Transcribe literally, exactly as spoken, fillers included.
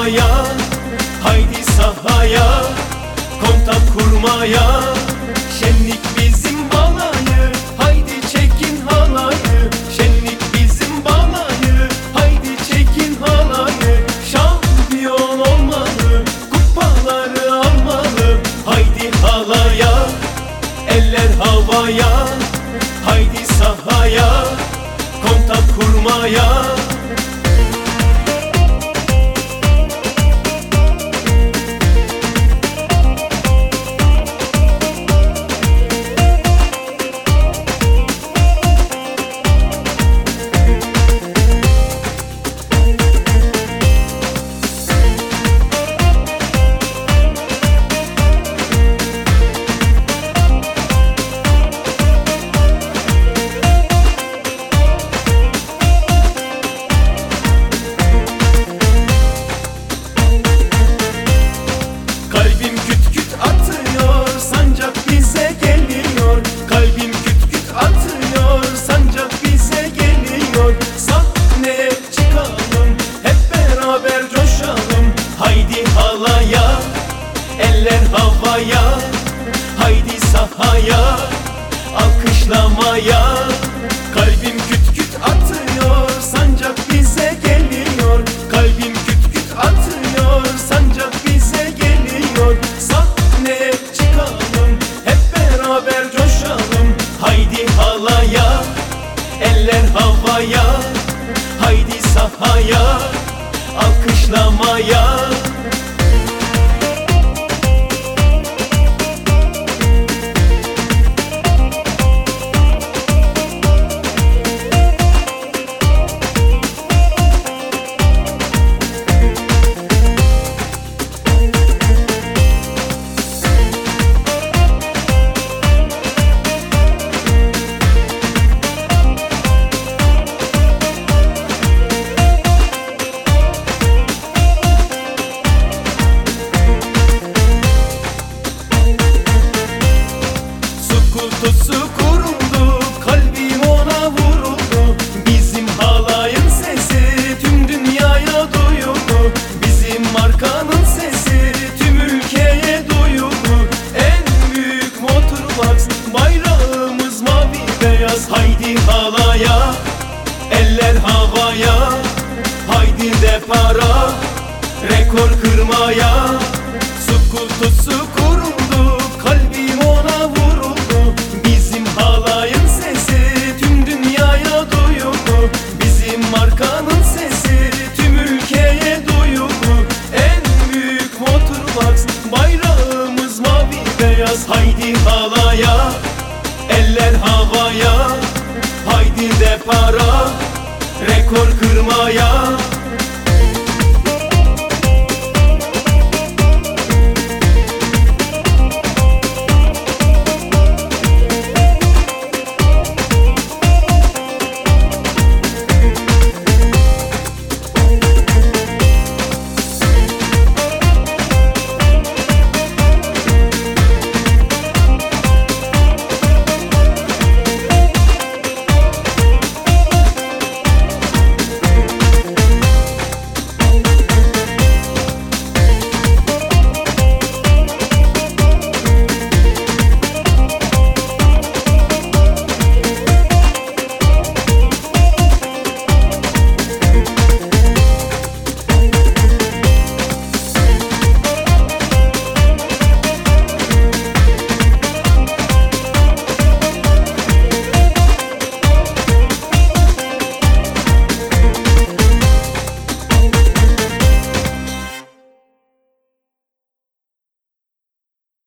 havaya, haydi sahaya, kontak kurmaya. Şenlik bizim balayı, haydi çekin halayı. Şenlik bizim balayı, haydi çekin halayı. Şampiyon olmalı, kupaları almalı. Haydi halaya, eller havaya, haydi sahaya, kontak kurmaya. Kalbim küt küt atıyor, sancak bize geliyor. Kalbim küt küt atıyor, sancak bize geliyor. Sahneye çıkalım, hep beraber coşalım. Haydi halaya, eller havaya, haydi sahaya, alkışlamaya. Kalbim küt küt atıyor, sancak bize geliyor. Kalbim küt küt atıyor, sancak bize geliyor. Sahneye çıkalım, hep beraber coşalım. Haydi halaya, eller havaya, haydi sahaya, alkışlamaya. Kutusu kuruldu, kalbim ona vuruldu. Bizim halayın sesi tüm dünyaya duyuldu. Bizim markanın sesi tüm ülkeye duyuldu. En büyük Motorbox, bayrağımız mavi beyaz. Haydi halaya, eller havaya, haydi depara, rekor kırmaya. Su kutusu kuruldu, kalbim ona vuruldu. Bizim halayın sesi tüm dünyaya duyuldu. Bizim markanın sesi tüm ülkeye duyuldu. En büyük Motorbox, bayrağımız mavi beyaz. Haydi halaya, eller havaya, haydi depara, rekor kırmaya.